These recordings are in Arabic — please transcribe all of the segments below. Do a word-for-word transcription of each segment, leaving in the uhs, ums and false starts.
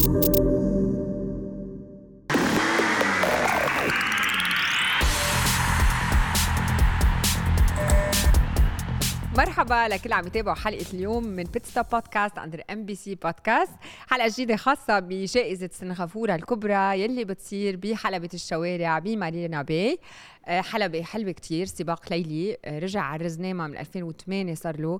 مرحبا لكل عم يتابعوا حلقة اليوم من بيت ستوب بودكاست عند ام بي سي بودكاست. حلقة جديدة خاصة بجائزة سنغافورة الكبرى يلي بتصير بحلبة الشوارع بمارينا باي. حلبة حلوة كتير، سباق ليلي رجع على الرزنامة من ألفين وثمانية صار له،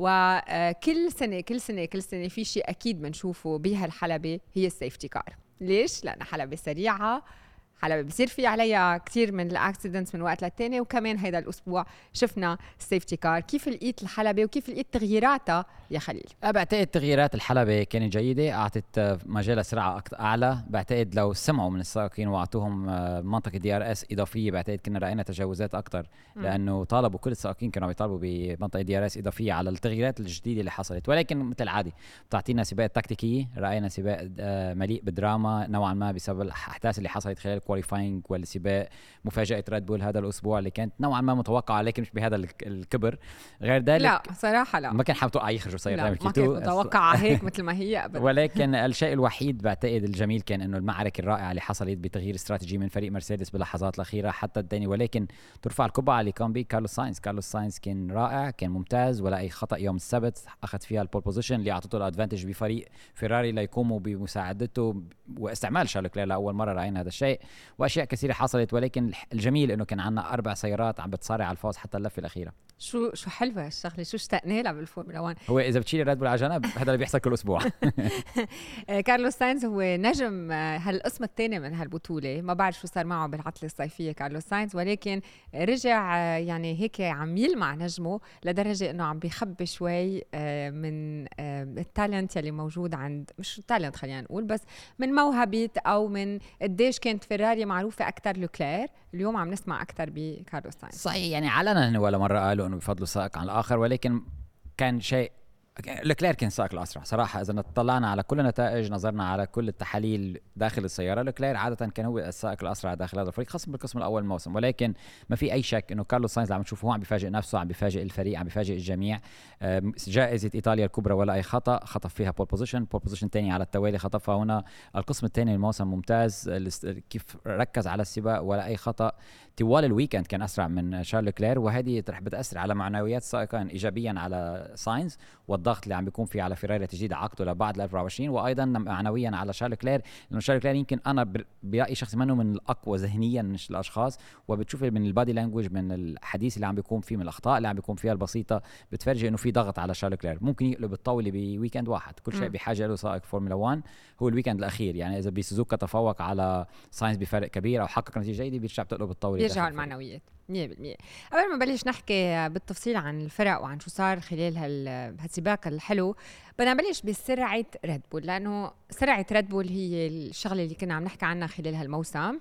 وكل سنة كل سنة كل سنة في شيء أكيد بنشوفه بهالحلبة هي السيفتي كار. ليش؟ لأن حلبة سريعة، حلبة بيصير في عليها كتير من الاكسيدنتس من وقت للتاني، وكمان هيدا الأسبوع شفنا السيفتي كار. كيف لقيت الحلبة وكيف لقيت تغييراتها يا خليل؟ بعتقد تغييرات الحلبة كانت جيدة، أعطت مجال سرعة أعلى. بعتقد لو سمعوا من السائقين وأعطوهم منطقة دي ار اس إضافية بعتقد كنا رأينا تجاوزات أكتر، لأنه طالبوا كل السائقين كانوا بيطالبوا بمنطقة دي ار اس إضافية على التغييرات الجديدة اللي حصلت. ولكن مثل عادي بتعطينا سباق تكتيكية، رأينا سباق مليء بدراما نوعا ما بسبب الأحداث اللي حصلت خلال الكواليفاينج والسباق. مفاجأة ريد بول هذا الأسبوع اللي كانت نوعا ما متوقعة، لكن مش بهذا الكبر. غير ذلك لا صراحة لا، ما كان حمتوقع يخرجوا سيارة، ما كنت متوقعة هيك مثل ما هي أبدا. ولكن الشيء الوحيد بعتقد الجميل كان انه المعركة الرائعة اللي حصلت بتغيير استراتيجي من فريق مرسيدس باللحظات الأخيرة حتى الدني. ولكن ترفع القبعة اللي كان بيه كارلوس ساينز. كارلوس ساينز كان رائع، كان ممتاز، ولا أي خطأ يوم السبت أخذ فيها البول بوزيشن اللي أعطته الأدفانتج بفريق فيراري ليقوموا بمساعدته واستعمال شارل كلير. لأول مرة رأينا هذا الشيء، وأشياء كثيرة حصلت. ولكن الجميل انه كان عندنا أربع سيارات عم بتصارع على الفوز حتى اللفة الأخيرة. شو شو حلوة الشغلة، شو اشتقنا لها بالفورمولا واحد. هو إذا بتشيل ريد بول على جنب هذا اللي بيحصل كل أسبوع. كارلوس ساينز هو نجم هالقسم الثاني من هالبطولة، ما بعرف شو صار معه بالعطلة الصيفية كارلوس ساينز، ولكن رجع يعني هيك عم يلمع نجمه لدرجة انه عم بيخبي شوي من التالنت يلي موجود عند، مش التالنت خلينا نقول، بس من موهبة او من قديش كانت فيراري معروفة اكتر لوكلير. اليوم عم نسمع اكتر بكارلوس ساينز. صحيح، يعني علنا ولا مرة قالوا انه بفضلوا سائق عن الاخر، ولكن كان شيء لوكلير كان سائق الأسرع صراحة. إذا طلعنا على كل النتائج، نظرنا على كل التحاليل داخل السيارة، لوكلير عادة كان هو السائق الأسرع داخل هذا الفريق، خاصة بالقسم الأول الموسم. ولكن ما في أي شك إنه كارلوس ساينز عم نشوفه هو عم بيفاجئ نفسه، عم بيفاجئ الفريق، عم بيفاجئ الجميع. جائزة إيطاليا الكبرى ولا أي خطأ، خطف فيها بول بوزيشن، بول بوزيشن تاني على التوالي خطفها هنا. القسم الثاني الموسم ممتاز، كيف ركز على السباق ولا أي خطأ. طوال الويكند كان أسرع من شارل كلير، وهذه رح بتأثر على معنويات السائقين إيجابيا على ساينز والضغط اللي عم بيكون فيه على فيراري تجديد عقده لبعد ألفين وأربعة وعشرين، وايضا معنويا على شارل كلير، لانه شارل كلير يمكن انا برايي شخص منه من الاقوى ذهنيا من الاشخاص، وبتشوف من البادي لانجويج، من الحديث اللي عم بيكون فيه، من الاخطاء اللي عم بيكون فيها البسيطه، بتفرجي انه في ضغط على شارل كلير. ممكن يقلب الطاوله بويكند واحد. كل شيء بحاجه له سائق فورمولا واحد هو الويكند الاخير. يعني اذا بسوزوكا تفوق على ساينز بفرق كبير او حقق نتيجه جيده، بيرجع بتقلب الطاوله، بيرجع المعنويات مية بالمية. قبل ما نبلش نحكي بالتفصيل عن الفرق وعن شو صار خلال هالسباق الحلو، بدنا نبلش بسرعة ريد بول، لأنه سرعة ريد بول هي الشغلة اللي كنا عم نحكي عنها خلال هالموسم.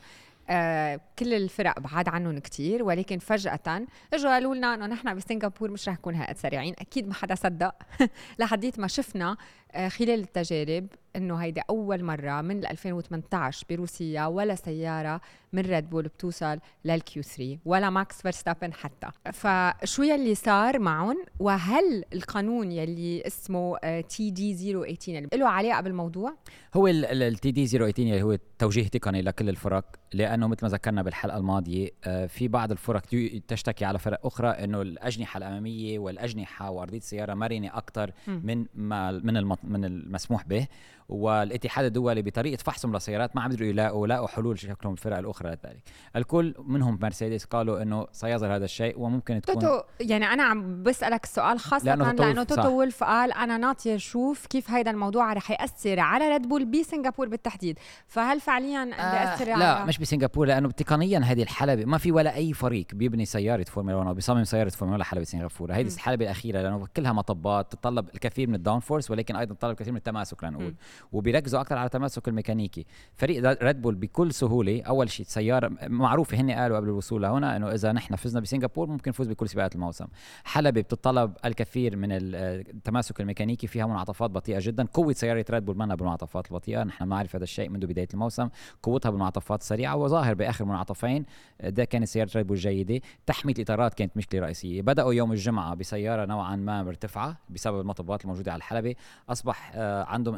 آه كل الفرق بعاد عنهم كتير، ولكن فجأة اجوا قالوا لنا انه نحن بسنغافور مش رح نكون هالقد سريعين. اكيد ما حدا صدق لحديت ما شفنا آه خلال التجارب انه هيدا اول مرة من ألفين وثمانية عشر بروسيا ولا سيارة من ريد بول بتوصل للكيو ثلاثة، ولا ماكس فيرستابن حتى. فشو يلي صار معهم؟ وهل القانون يلي اسمه تي دي صفر ثمانية عشر اللي له علاقة بالموضوع؟ هو التي دي صفر ثمانية عشر هو توجيه تقني لكل الفرق، لأنه مثل ما ذكرنا بالحلقة الماضية في بعض الفرق تشتكي على فرق أخرى إنه الأجنحة الأمامية والأجنحة وأرضية السيارة مرنة أكتر من ما من من المسموح به. والاتحاد الدولي بطريقة فحصهم للسيارات ما عم يقدروا يلاقوا لاقوا حلول شكلهم الفرق الأخرى لذلك. الكل منهم مرسيدس قالوا إنه سيظهر هذا الشيء وممكن تكون توتو. يعني أنا عم بسألك السؤال خاصة لأنه, لأنه توتو وولف قال أنا ناطر شوف كيف هيدا الموضوع رح يأثر على ريد بول بسنغافور بالتحديد. فهل فعليا بيأثر؟ آه لا مش بسنغافور، لأنه تقنيا هذه الحلبة ما في ولا أي فريق بيبني سيارة فورمولا واحد أو بيصمم سيارة فورمولا واحد حلبة سنغافورة. هذه الحلبة الأخيرة لأنه كلها مطبات تتطلب الكثير من الداون فورس، ولكن أيضا تتطلب الكثير من التماسك لنقول، وبيركزوا أكثر على التماسك الميكانيكي. فريق ريد بول بكل سهولة أول شيء سيارة معروفة، هن قالوا قبل الوصول لهنا إنه إذا نحن فزنا بسنغافور ممكن نفوز بكل سباقات الموسم. حلبة بتتطلب الكثير من التماسك الميكانيكي، فيها منعطفات بطيئة جدا. قوة سيارة ريد بول منها بالمنعطفات البطيئة، نحن نعرف هذا الشيء منذ بداية الموسم. قوتها بالمنعطفات السريعة، وظاهر بآخر منعطفين ده كانت سيارة ريد بول جيدة. تحمية الإطارات كانت مشكلة رئيسية. بدأوا يوم الجمعة بسيارة نوعا ما مرتفعة بسبب المطبات الموجودة على الحلبة، أصبح عندهم انزلاق من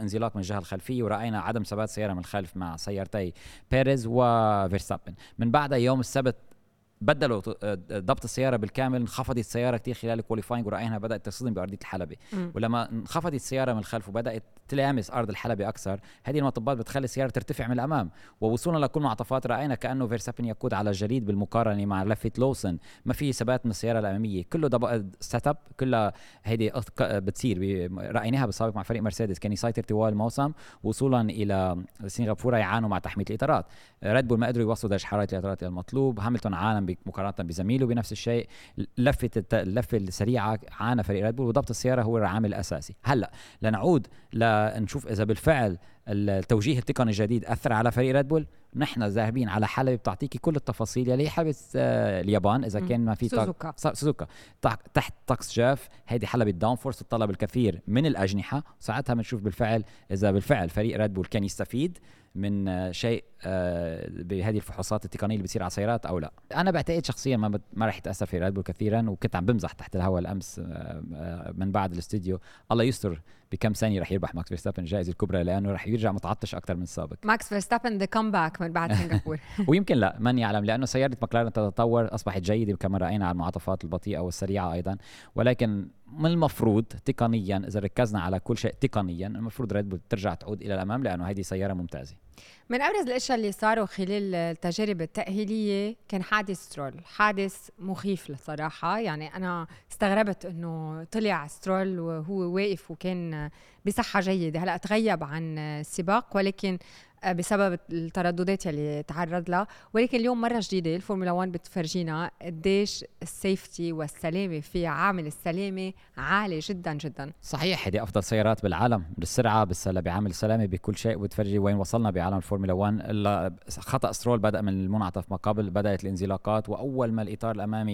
الجهه الخلفيه، وراينا عدم ثبات سياره من الخلف مع سيارتي بيريز وفيرستابن. من بعدها يوم السبت بدلوا ضبط السياره بالكامل، انخفضت السياره كتير خلال الكواليفاينج، ورايناها بدات تصطدم بارضيه الحلبه. م. ولما انخفضت السياره من الخلف وبدات تلامس ارض الحلبه اكثر، هذه المطبات بتخلي السياره ترتفع من الامام، ووصولا لكل معطفات راينا كانه فيرستابن يقود على الجليد بالمقارنه مع لفه لوسن، ما في ثبات من السياره الاماميه، كله سيت اب، كلها هيدي بتصير رايناها بالسابق مع فريق مرسيدس كان يسيطر طوال الموسم، وصولا الى سنغافوره يعانوا مع تحميه الاطارات. ريد بول ما قدروا يوصلوا درجه حراره الاطارات المطلوب، هاملتون عالم مقارنه بزميله بنفس الشيء، لفه اللفه السريعه عانى فريق ريد بول، وضبط السياره هو العامل الاساسي. هلا لنعود لنشوف اذا بالفعل التوجيه التقني الجديد اثر على فريق ريد بول. نحن ذاهبين على حلبة بتعطيكي كل التفاصيل يلي حلبة آه اليابان اذا كان ما في سوزوكا سوزوكا تحت طقس جاف، هيدي حلبة داون فورس تطلب الكثير من الاجنحه، ساعتها بنشوف بالفعل اذا بالفعل فريق ريد بول كان يستفيد من آه شيء آه بهذه الفحوصات التقنيه اللي بتصير على السيارات او لا. انا بعتقد شخصيا ما بت... ما راح يتاثر في ريد بول كثيرا، وكنت عم بمزح تحت الهواء الامس آه آه من بعد الاستوديو، الله يستر بكم ثانيه راح يربح ماكس فيرستابن الجائزه الكبرى، لانه راح يرجع متعطش اكثر من السابق. ماكس فيرستابن ذا كومباك من بعد سنغافوره. ويمكن لا، من يعلم، لانه سياره ماكلارن تتطور، اصبحت جيده كما راينا على المعطفات البطيئه والسريعه ايضا، ولكن من المفروض تقنيا اذا ركزنا على كل شيء تقنيا المفروض ريد بول ترجع تعود الى الامام، لانه هذه سياره ممتازه. من أبرز الأشياء اللي صاروا خلال التجارب التأهيلية كان حادث سترول، حادث مخيف للصراحة. يعني أنا استغربت أنه طلع سترول وهو واقف وكان بصحة جيدة. هلأ تغيب عن السباق ولكن بسبب الترددات اللي تعرض لها، ولكن اليوم مرة جديدة الفورمولا واحد بتفرجينا قديش السيفتي والسلامة في عامل السلامة عالي جدا جدا. صحيح، هذه أفضل سيارات بالعالم بالسرعة بالسلامة بعامل السلامة بكل شيء، وبتفرجي وين وصلنا بعالم الفورمولا واحد. خطأ سترول بدأ من المنعطف ما قبل، بدأت الانزلاقات، وأول ما الإطار الأمامي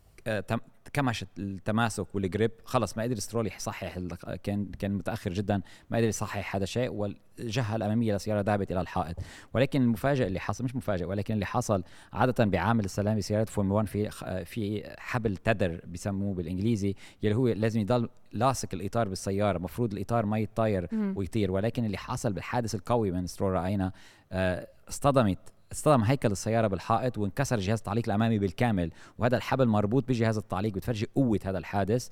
كمشت التماسك والجريب خلص ما قدر سترول يصحح، كان كان متاخر جدا، ما قدر يصحح هذا الشيء، والجهه الاماميه للسياره ذهبت الى الحائط. ولكن المفاجئ اللي حصل، مش مفاجئ ولكن اللي حصل عاده بعامل السلامه سيارات فورمولا واحد في في حبل تدر بيسموه بالانجليزي، يلي هو لازم يضل لاصق الاطار بالسياره، مفروض الاطار ما يتطاير ويطير. ولكن اللي حصل بالحادث القوي من سترول راينا اصطدمت اصطدم هيكل السيارة بالحائط وانكسر جهاز التعليق الأمامي بالكامل، وهذا الحبل مربوط بجهاز التعليق، بتفرجي قوة هذا الحادث.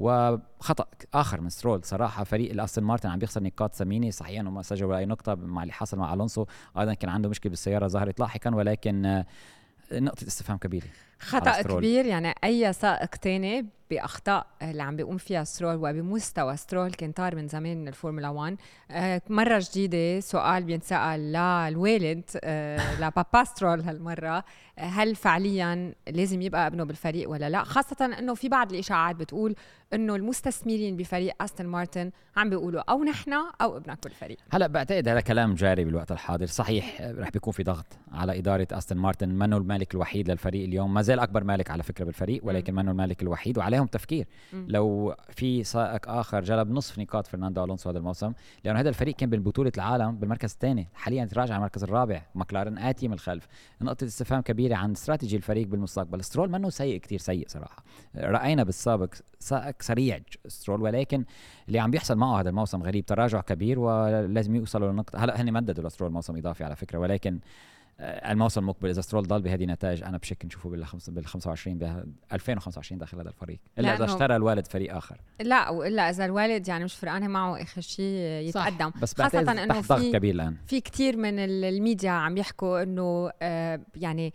وخطأ آخر من سترول صراحة. فريق الأستون مارتن عم بيخسر نقاط ثمينة، صحيح إنه ما سجلوا أي نقطة مع اللي حصل مع ألونسو، أيضا كان عنده مشكلة بالسيارة ظهرت لاحقا، ولكن نقطة استفهام كبيرة، خطأ كبير. يعني أي سائق تاني بأخطاء اللي عم بيقوم فيها سترول وبمستوى سترول كان طار من زمان من الفورمولا واحد. آه مرة جديدة سؤال بينسأل للوالد آه لبابا سترول هالمرة، هل فعليا لازم يبقى ابنه بالفريق ولا لا؟ خاصة انه في بعض الاشاعات بتقول انه المستثمرين بفريق استون مارتن عم بيقولوا او نحن او ابنك بالفريق. هلا بعتقد هذا كلام جاري بالوقت الحاضر. صحيح رح بيكون في ضغط على إدارة استون مارتن، منه المالك الوحيد للفريق اليوم، ما زال اكبر مالك على فكرة بالفريق، ولكن منه المالك الوحيد، وعليهم تفكير م. لو في سائق اخر جلب نصف نقاط فرناندو الونسو هذا الموسم، لانه هذا الفريق كان بالبطولة العالم بالمركز الثاني، حاليا تراجع على المركز الرابع، ماكلارن آتي من الخلف. نقطة استفهام كبيرة عن استراتيجي الفريق بالمستقبل. سترول منه سيء كتير سيء صراحة، رأينا بالسابق سائق سريع سترول، ولكن اللي عم بيحصل معه هذا الموسم غريب، تراجع كبير ولازم يوصلوا لنقطة. هلا هني مددوا لسترول موسم إضافي على فكرة، ولكن الموسم المقبل اذا سترول ضل بهذه النتائج انا بشك نشوفه بال خمسة وعشرين ب ألفين وخمسة وعشرين داخل هذا الفريق، الا اذا اشترى الوالد فريق اخر. لا والا اذا الوالد يعني مش فرقانه معه اخر شيء يتقدم. بس خاصه انه في كبير الان في كثير من الميديا عم يحكوا انه آه يعني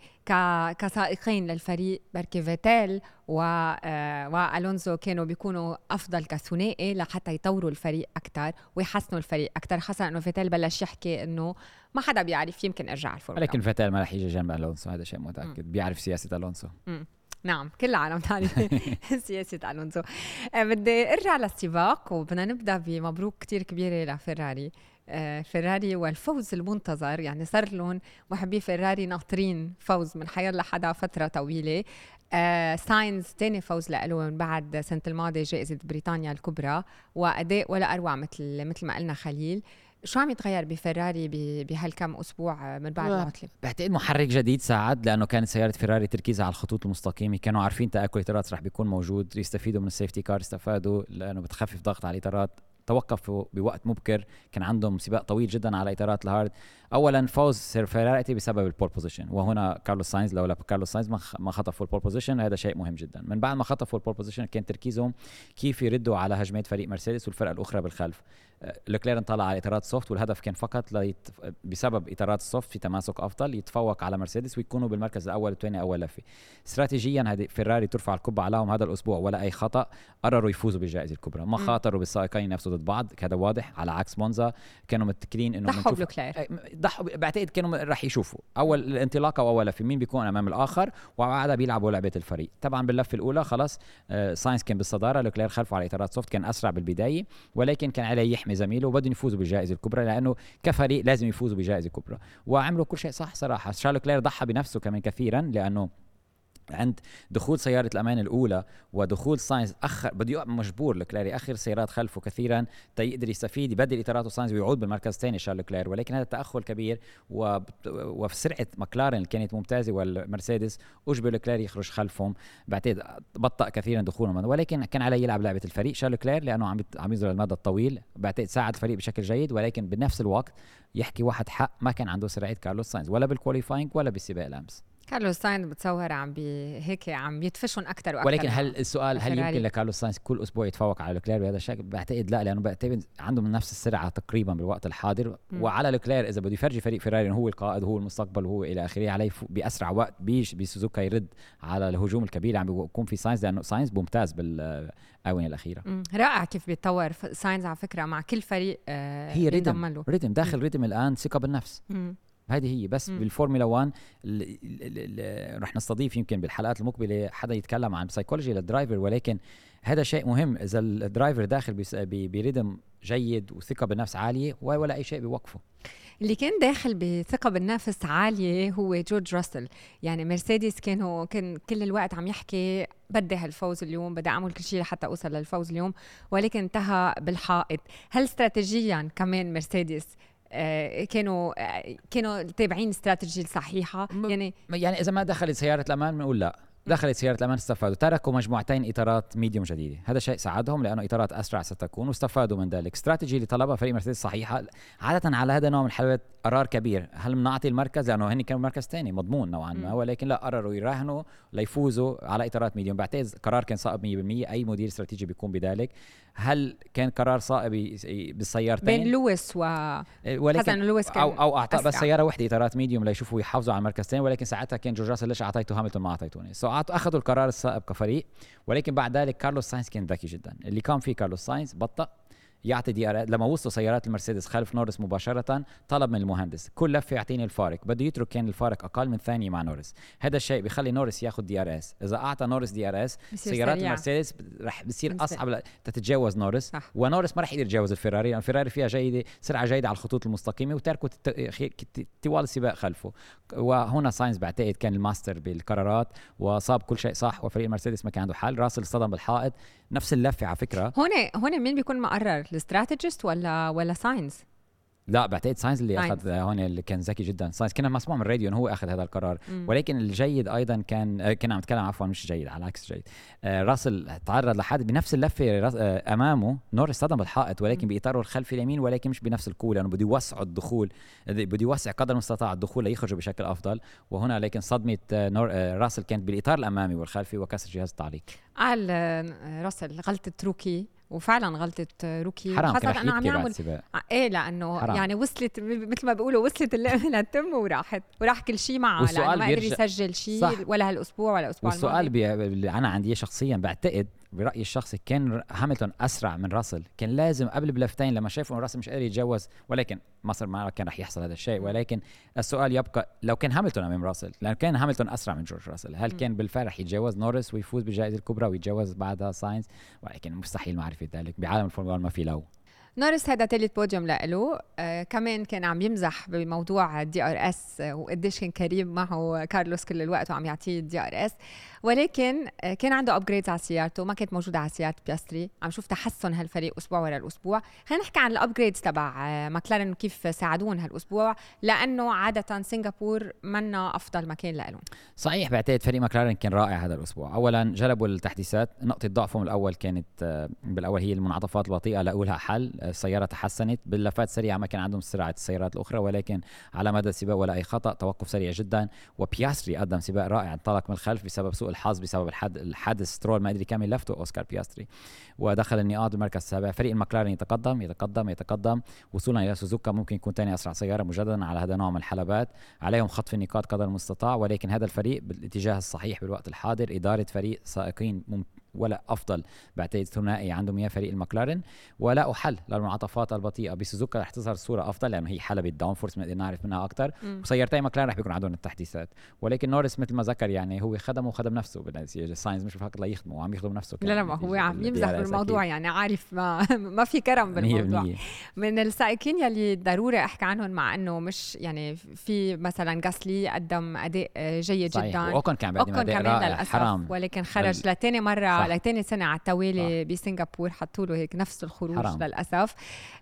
كسائقين للفريق بركي فيتيل و آه والونزو كانوا بيكونوا افضل كثنائي لحتى يطوروا الفريق اكثر ويحسنوا الفريق اكثر، خاصه انه فيتيل بلش يحكي انه ما حدا بيعرف يمكن ارجع الفورمولا. لكن فيتيل ما رح يجي جنب الونسو، هذا شيء متاكد. م. بيعرف سياسه الونسو. م. نعم كل العالم تعرف سياسه الونسو. آه بدي ارجع للسباق وبدنا نبدا بمبروك كتير كبيره لفيراري. آه فيراري والفوز المنتظر، يعني صار لهم محبي فيراري ناطرين فوز من حيال لحدا فتره طويله. آه ساينز تاني فوز له من بعد سنة الماضي جائزة بريطانيا الكبرى، وأداء ولا أروع مثل مثل ما قلنا خليل. شو عم يتغير بفيراري بهالكم أسبوع من بعد العطلة؟ بعتقد محرك جديد ساعد، لأنه كانت سيارة فيراري تركيزها على الخطوط المستقيمة، كانوا عارفين تآكل الإطارات رح بيكون موجود، يستفيدوا من السيفتي كار، استفادوا لأنه بتخفف ضغط على الإطارات، توقفوا بوقت مبكر، كان عندهم سباق طويل جدا على اطارات الهارد. اولا فوز فيراري بسبب البول بوزيشن، وهنا كارلوس ساينز لولا كارلوس ساينز ما خطفوا البول بوزيشن، هذا شيء مهم جدا. من بعد ما خطفوا البول بوزيشن كان تركيزهم كيف يردوا على هجمات فريق مرسيدس والفرق الاخرى بالخلف. لوكلير انطلع على اطارات سوفت، والهدف كان فقط ليت... بسبب اطارات السوفت في تماسك افضل يتفوق على مرسيدس ويكونوا بالمركز الاول والثاني اول لفه. استراتيجيا هذه فيراري ترفع القبعه عليهم هذا الاسبوع ولا اي خطا، قرروا يفوزوا بالجائزه الكبرى، ما خاطروا بالسائقين نفسه ضد بعض، هذا واضح. على عكس مونزا كانوا متكلين انه ضحوا بلوكلير، ضحوا بعتقد كانوا راح يشوفوا اول الانطلاقه واول لفه مين بيكون امام الاخر، وبعدها بيلعبوا لعبه الفريق. طبعا باللفه الاولى خلاص آه ساينز كان بالصداره، لوكلير خلفه على اطارات سوفت، كان اسرع بالبدايه ولكن كان عليه يحمي زميله وبدهم يفوزوا بالجائزه الكبرى لانه كفريق لازم يفوزوا بجائزه كبرى، وعملوا كل شيء صح صراحه. شارل كلير ضحى بنفسه كمان كثيرا لانه عند دخول سيارة الأمان الأولى ودخول ساينز أخر بده مجبور لكلير يأخر سيارات خلفه كثيرا تيقدر يستفيد يبدل إطاراته ساينز ويعود بالمركز الثاني شارل كلير، ولكن هذا التأخر كبير و... وفي سرعة مكلارن اللي كانت ممتازة والمرسيدس أجبر كلير يخرج خلفهم، بعتقد بطأ كثيرا دخولهم، ولكن كان عليه يلعب لعبة الفريق شارل كلير لأنه عم عم يظهر المدى الطويل، بعتقد ساعد الفريق بشكل جيد، ولكن بنفس الوقت يحكي واحد حق ما كان عنده سرعة كارلوس ساينز ولا بالكواليفاينج ولا بالسباق الأمس. كارلوس ساينز بتصور عم بي هيك عم يتفشون اكثر واكثر. ولكن هل السؤال هل يمكن لكارلوس ساينز كل اسبوع يتفوق على لوكلير بهذا الشكل؟ بعتقد لا، لانه بعتقد عندهم نفس السرعه تقريبا بالوقت الحاضر. م. وعلى لوكلير اذا بده يفرجي فريق فيراري هو القائد وهو المستقبل وهو الى اخره، عليه باسرع وقت بيش بسوزوكا يرد على الهجوم الكبير اللي عم بيكون في ساينز، لانه ساينز ممتاز بالاونه الاخيره. م. رائع كيف بيتطور ساينز على فكره مع كل فريق. آه هي ريتم ريتم داخل ريتم الان، ثقه بالنفس. م. هذه هي بس. م. بالفورمولا واحد رح نستضيف يمكن بالحلقات المقبله حدا يتكلم عن سايكولوجي للدرايفر، ولكن هذا شيء مهم. اذا الدرايفر داخل بريدم جيد وثقه بالنفس عاليه ولا اي شيء بيوقفه. اللي كان داخل بثقة بالنفس عالية هو جورج راسل. يعني مرسيدس كانوا كان كل الوقت عم يحكي بدي هالفوز اليوم، بدي أعمل كل شيء لحتى أوصل للفوز اليوم، ولكن انتهى بالحائط. هل استراتيجيا كمان مرسيدس آه كانوا آه كانوا تابعين استراتيجية صحيحة؟ يعني يعني إذا ما دخلت سيارة الأمان بنقول لا، دخلت سيارة الأمان استفادوا، تركوا مجموعتين إطارات ميديوم جديدة، هذا شيء ساعدهم لأنه إطارات أسرع ستكون واستفادوا من ذلك. استراتيجي اللي طلبها فريق مرسيدس صحيحة. عادة على هذا النوع من الحلوات قرار كبير، هل بنعطي المركز لأنه هن كانوا مركز ثاني مضمون نوعا ما، ولكن لا، قرروا يراهنوا ليفوزوا على إطارات ميديوم. بعتقد قرار كان صائب مية بالمية، أي مدير استراتيجي بيكون بذلك. هل كان قرار صائب بالسيارتين بين لويس و ولكن لويس كان أو أو أعطى بس سيارة واحدة إطارات ميديوم ليشوفوا يحافظوا على المركز الثاني، ولكن ساعتها كان جورج راسل ليش أعطيته هاملتون ما أعطيتوني، سو أخذوا القرار الصائب كفريق. ولكن بعد ذلك كارلوس ساينز كان ذكي جدا، اللي كان فيه كارلوس ساينز بطأ يعطي دي ار. لما وصلوا سيارات المرسيدس خلف نورس مباشرة طلب من المهندس كل لفة يعطيني الفارق، بده يترك كان الفارق أقل من ثانية مع نورس. هذا الشيء بيخلي نورس ياخذ دي ار اس. إذا أعطى نورس دي ار اس سيارات المرسيدس رح بصير أصعب تتجاوز نورس، صح. ونورس ما رح يقدر يتجاوز الفيراري، لأن الفيراري فيها جيدة سرعة جيدة على الخطوط المستقيمة وتركوا طوال السباق خلفه. وهنا ساينز بعتقد كان الماستر بالقرارات وصاب كل شيء صح، وفريق المرسيدس ما كان عنده حل. راسل اصطدم بالحائط نفس اللفة على فكرة. هون هون مين بيكون مقرر، الاستراتيجيست ولا ولا ساينز؟ لا بعتقد ساينز اللي ساينز. اخذ هون اللي كان ذكي جدا. ساينز كنا مسموع من الراديو انه هو اخذ هذا القرار. م. ولكن الجيد ايضا كان كنا عم نتكلم عفوا مش جيد على العكس جيد. آه راسل تعرض لحد بنفس اللفه آه امامه نورس صدم بالحائط، ولكن باطاره الخلفي اليمين، ولكن مش بنفس القوه لانه بده يوسع الدخول، بده يوسع قدر المستطاع الدخول ليخرجوا بشكل افضل. وهنا لكن صدمه آه نور آه راسل كانت بالاطار الامامي والخلفي وكسر جهاز التعليق. قال آه راسل غلطه روكي، وفعلا غلطة روكي. حرام كان رح يبكي بعد السباق. ايه لانه حرام. يعني وصلت مثل ما بيقولوا وصلت اللعبه للتم وراحت وراح كل شيء معه، لانه ما قدر يسجل شيء ولا هالاسبوع ولا الاسبوع الماضي. والسؤال بي... اللي انا عندي شخصيا بعتقد برأيي الشخصي كان هاملتون أسرع من راسل. كان لازم قبل بلفتين لما شافوا إنه راسل مش قادر يتجاوز، ولكن مصر ما كان رح يحصل هذا الشيء. ولكن السؤال يبقى لو كان هاملتون أمام راسل، لأن كان هاملتون أسرع من جورج راسل، هل كان بالفعل رح يتجاوز نورس ويفوز بالجائزة الكبرى ويتجاوز بعدها ساينز؟ ولكن مستحيل معرفة ذلك بعالم الفورمولا ما في لو. نورس هذا ثالث بوديوم له. آه كمان كان عم يمزح بموضوع الدي ار اس، وقديش كان كريم معه كارلوس كل الوقت وعم يعطيه الدي ار اس. ولكن كان عنده ابجريدز على سيارته ما كانت موجوده على سياره بياستري. عم شوف تحسن هالفريق اسبوع ورا الاسبوع. خلينا نحكي عن الابجريدز تبع ماكلارن وكيف ساعدون هالاسبوع، لانه عاده سنغافور منا افضل مكان لهم. صحيح، بعتقد فريق ماكلارن كان رائع هذا الاسبوع. اولا جلبوا التحديثات، نقطه ضعفهم الاول كانت بالاول هي المنعطفات البطيئه، لقوا لها حل، السياره تحسنت، باللفات سريعه ما كان عندهم سرعه السيارات الاخرى، ولكن على مدى السباق ولا اي خطا، توقف سريع جدا. وبياستري قدم سباق رائع، انطلق من الخلف بسبب سوء الحظ، بسبب الحد الحادث سترول ما قدر يكمل لفته اوسكار بياستري، ودخل النقاط بالمركز السابع. فريق المكلارن يتقدم يتقدم يتقدم وصولا الى سوزوكا، ممكن يكون ثاني اسرع سياره مجددا على هذا النوع من الحلبات. عليهم خطف النقاط قدر المستطاع، ولكن هذا الفريق بالاتجاه الصحيح بالوقت الحاضر. اداره فريق سائقين ممكن ولا افضل بعتقد ثنائي عندهم اياه فريق المكلارن، ولا حل للمنعطفات البطيئه. بسوزوكا رح تظهر الصوره افضل لانه هي حلبة داون فورس بنقدر نعرف منها اكثر، وسيارتين مكلارن رح بيكون عندهم التحديثات. ولكن نورس مثل ما ذكر يعني هو خدم وخدم نفسه بالنتيجه، ساينز مش فقط لا يخدمه، وعم يخدم نفسه. لا لا ما هو عم يمزح بالموضوع يعني عارف ما ما في كرم بالموضوع. من السائقين يلي ضروري احكي عنهم، مع انه مش يعني في مثلا غاسلي قدم اداء جيد صحيح. جدا، واوكن كان بيقدم اداء رائع حرام، ولكن خرج لثاني مره لثاني سنه على التوالي بسنغافور، حطوا له هيك نفس الخروج حرام. للاسف.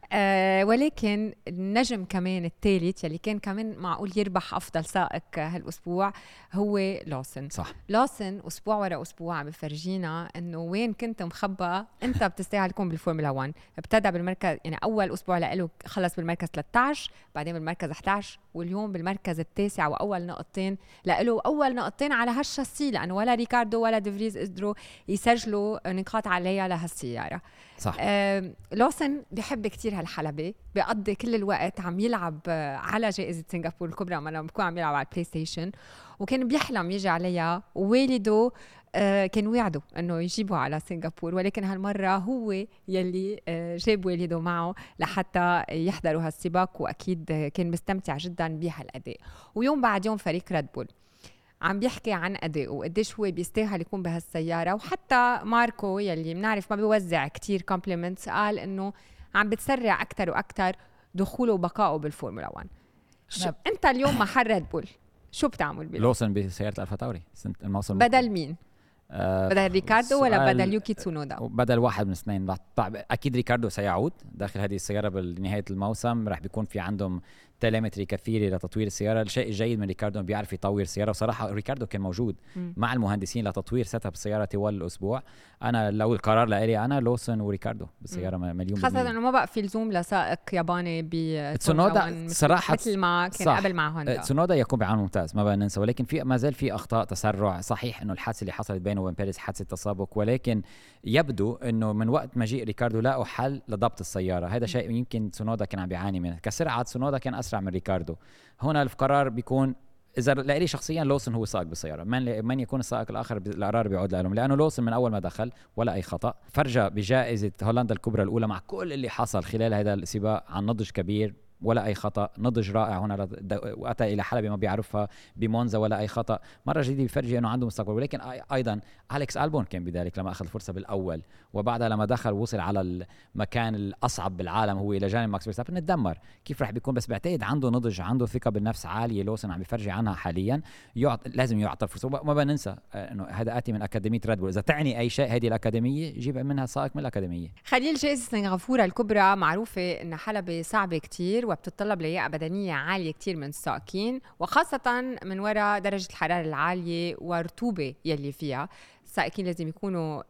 آه ولكن النجم كمان الثالث يلي كان كمان معقول يربح افضل سائق هالاسبوع هو لوسن. صح. لوسن اسبوع ورا اسبوع عم بفرجينا انه وين كنت مخبى انت بتستاهل تكون بالفورمولا واحد. ابتدى بالمركز يعني اول اسبوع له خلص بالمركز ثلاثة عشر، بعدين بالمركز أحد عشر، واليوم بالمركز التاسع، واول نقطتين له، اول نقطتين على هالشاسي، لانه ولا ريكاردو ولا ديفريز قدروا يسجلوا نقاط عليها لهالسياره. صح. آه لوسن بيحب كتير هالحلبة، بيقضي كل الوقت عم يلعب على جائزة سنغافور الكبرى، ما لما بكون عم يلعب على البلاي ستيشن، وكان بيحلم يجي عليها، ووالده آه كان وعده انه يجيبه على سنغافور، ولكن هالمرة هو يلي آه جاب والده معه لحتى يحضروا هالسباق، واكيد كان مستمتع جدا بهالاداء. ويوم بعد يوم فريق ريد بول عم بيحكي عن أدائه وقديش هو بيستاهل يكون بهالسيارة، وحتى ماركو يلي منعرف ما بيوزع كتير كومبليمنتس قال إنه عم بتسرع أكتر وأكتر دخوله وبقائه بالفورمولا واحد. شب. أنت اليوم محل ريد بول شو بتعمل بيه؟ لوسن بسيارة ألفا تاوري الموسم بدل مين؟ آه بدل ريكاردو ولا بدل يوكي تسونودا؟ بدل واحد من الاثنين. اكيد ريكاردو سيعود داخل هذه السياره بنهايه الموسم، راح بيكون في عندهم تيليمتري كثيره لتطوير السياره. الشيء الجيد من ريكاردو انه بيعرف يطور السياره، وصراحه ريكاردو كان موجود م. مع المهندسين لتطوير سيت اب السياره طوال الاسبوع. انا لو القرار لإلي انا لوسن وريكاردو بالسياره م. مليون بالمية، خاصه انه ما بقى في لزوم لسائق ياباني بتسونودا صراحه مثل ما كان صح. قبل مع هوندا. تسونودا يكون بعون ممتاز ما بقى ننسى، ولكن في ما زال في اخطاء تسرع. صحيح انه الحادثه اللي حصلت بينه وبين بيريز حادثه تسابق، ولكن يبدو انه من وقت مجيء ريكاردو لاقوا حل لضبط السياره. هذا شيء يمكن تسونودا كان عم بيعاني منه، كسرعه تسونودا كان اسرع من ريكاردو. هنا القرار بيكون اذا لي شخصيا لوسن هو سائق بالسياره، من من يكون السائق الاخر القرار بيعود لهم، لانه لوسن من اول ما دخل ولا اي خطا، فرجى بجائزه هولندا الكبرى الاولى مع كل اللي حصل خلال هذا السباق عن نضج كبير ولا اي خطا، نضج رائع هنا، واتى الى حلبة ما بيعرفها بمونزا ولا اي خطا. مره جديده بفرجي انه عنده مستقبل. ولكن ايضا اليكس البون كان بذلك لما اخذ الفرصه بالاول، وبعدها لما دخل وصل على المكان الاصعب بالعالم هو الى جانب ماكس فيرستابن، اتدمر. كيف راح بيكون؟ بس بعتقد عنده نضج، عنده ثقه بالنفس عاليه. لوسن عم بيفرجي عنها حاليا، يعط... لازم يعطى الفرصه. ما بننسى انه هذا اتي من اكاديميه ريد بول، اذا تعني اي شيء هذه الاكاديميه جيب منها سائق من الاكاديميه. خليل، جائزه سنغافوره الكبرى معروفه ان حلبة صعبه كتير وبتتطلب لياقه بدنيه عاليه كتير من السائقين، وخاصه من وراء درجه الحراره العاليه والرطوبه يلي فيها. السائقين لازم يكونوا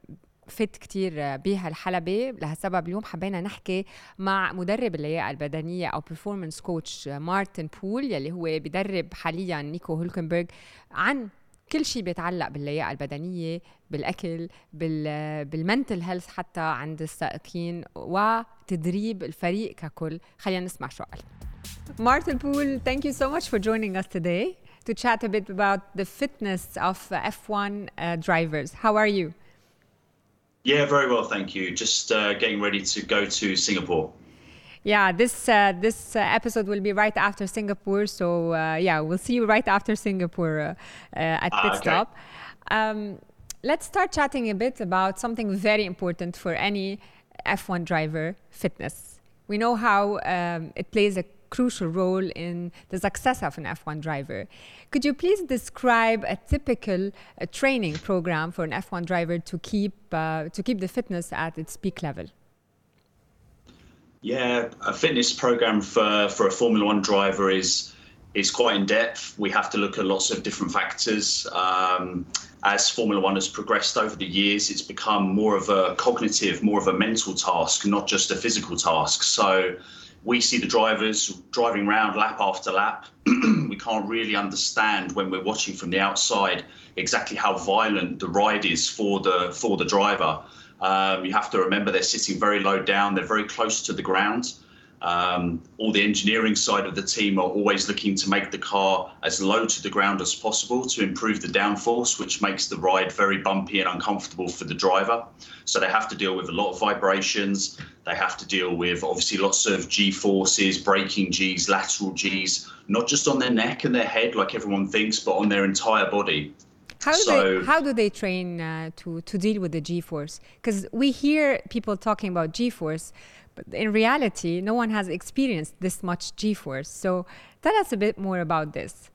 فت كتير بهالحلبة. لهالسبب اليوم حبينا نحكي مع مدرب اللياقة البدنية أو performance coach مارتن بول يلي هو بدرب حاليا نيكو هولكنبرغ عن كل شيء بيتعلق باللياقة البدنية، بالأكل، بالمنتل هيلث حتى عند السائقين، وتدريب الفريق ككل. خلينا نسمع شو قال. Martin Poole, thank you so much for joining us today to chat a bit about the fitness of F one uh, drivers. How are you? Yeah, very well, thank you. Just uh, getting ready to go to Singapore. Yeah, this uh, this uh, episode will be right after Singapore, so uh, yeah, we'll see you right after Singapore uh, uh, at pit ah, okay. stop. Um, let's start chatting a bit about something very important for any F one driver: fitness. We know how um, it plays a crucial role in the success of an F one driver. Could you please describe a typical uh, training program for an F one driver to keep uh, to keep the fitness at its peak level? Yeah, a fitness program for, for a Formula One driver is is quite in depth. We have to look at lots of different factors. Um, as Formula One has progressed over the years, it's become more of a cognitive, more of a mental task, not just a physical task. So we see the drivers driving around lap after lap. We can't really understand when we're watching from the outside exactly how violent the ride is for the for the driver. Um, you have to remember they're sitting very low down. They're very close to the ground. Um, all the engineering side of the team are always looking to make the car as low to the ground as possible to improve the downforce, which makes the ride very bumpy and uncomfortable for the driver. So they have to deal with a lot of vibrations. They have to deal with obviously lots of G-forces, braking Gs, lateral Gs, not just on their neck and their head like everyone thinks, but on their entire body. How do, so, they, how do they train uh, to, to deal with the G-force? Because we hear people talking about G-force, but in reality, no one has experienced this much G-force. So tell us a bit more about this.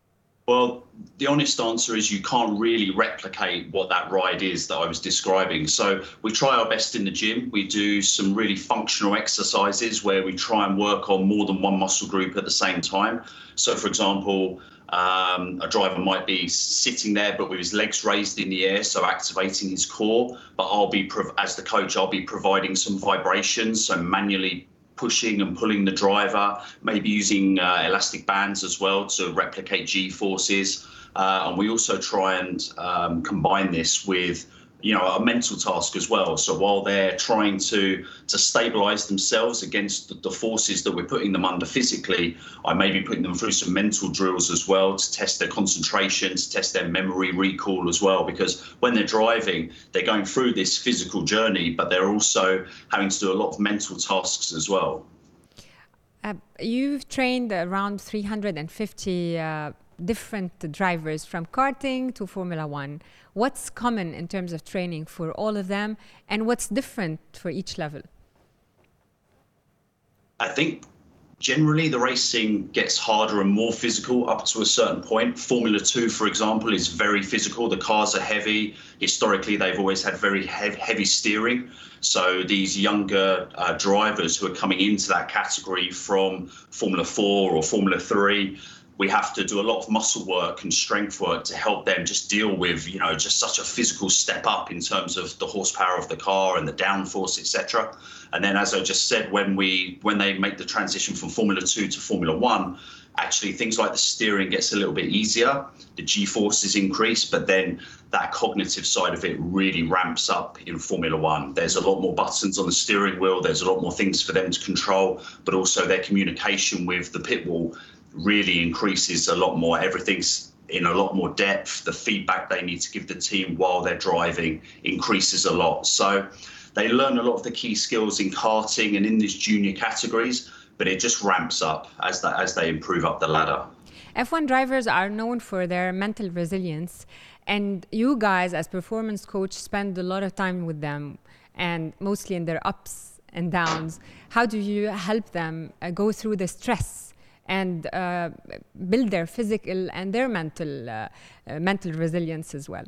Well, the honest answer is you can't really replicate what that ride is that I was describing. So we try our best in the gym. We do some really functional exercises where we try and work on more than one muscle group at the same time. So, for example, Um, a driver might be sitting there, but with his legs raised in the air, so activating his core. But I'll be, as the coach, I'll be providing some vibrations, so manually pushing and pulling the driver, maybe using uh, elastic bands as well to replicate G-forces. Uh, and we also try and um, combine this with, you know, a mental task as well. So while they're trying to to stabilize themselves against the, the forces that we're putting them under physically, I may be putting them through some mental drills as well to test their concentration, to test their memory recall as well. Because when they're driving, they're going through this physical journey, but they're also having to do a lot of mental tasks as well. Uh, you've trained around three hundred fifty uh, different drivers from karting to Formula One. What's common in terms of training for all of them, and what's different for each level? I think generally the racing gets harder and more physical up to a certain point. Formula Two, for example, is very physical. The cars are heavy. Historically, they've always had very heavy, heavy steering. So these younger uh, drivers who are coming into that category from Formula Four or Formula Three, we have to do a lot of muscle work and strength work to help them just deal with, you know, just such a physical step up in terms of the horsepower of the car and the downforce, et cetera. And then, as I just said, when we when they make the transition from Formula Two to Formula One, actually things like the steering gets a little bit easier, the G-forces increase, but then that cognitive side of it really ramps up in Formula One. There's a lot more buttons on the steering wheel. There's a lot more things for them to control, but also their communication with the pit wall really increases a lot more. Everything's in a lot more depth. The feedback they need to give the team while they're driving increases a lot. So they learn a lot of the key skills in karting and in these junior categories, but it just ramps up as, that, as they improve up the ladder. F one drivers are known for their mental resilience, and you guys as performance coach spend a lot of time with them, and mostly in their ups and downs. How do you help them uh, go through the stress and uh, build their physical and their mental uh, uh, mental resilience as well?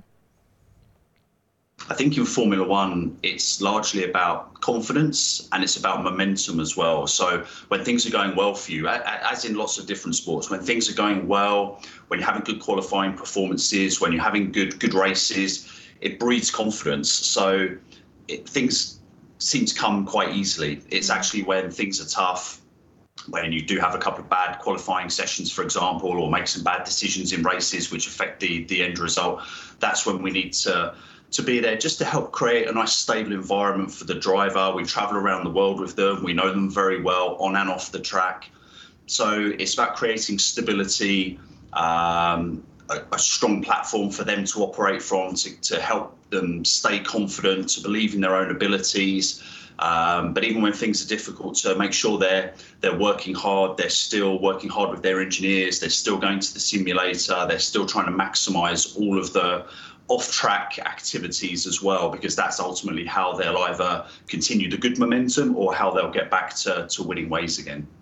I think in Formula One, it's largely about confidence and it's about momentum as well. So when things are going well for you, as in lots of different sports, when things are going well, when you're having good qualifying performances, when you're having good good races, it breeds confidence. So it, things seem to come quite easily. It's actually when things are tough, when you do have a couple of bad qualifying sessions, for example, or make some bad decisions in races which affect the, the end result, that's when we need to, to be there just to help create a nice stable environment for the driver. We travel around the world with them. We know them very well on and off the track. So it's about creating stability, um, a, a strong platform for them to operate from, to, to help them stay confident, to believe in their own abilities. Um, but even when things are difficult, to make sure they're they're working hard, they're still working hard with their engineers, they're still going to the simulator, they're still trying to maximize all of the off-track activities as well, because that's ultimately how they'll either continue the good momentum or how they'll get back to, to winning ways again.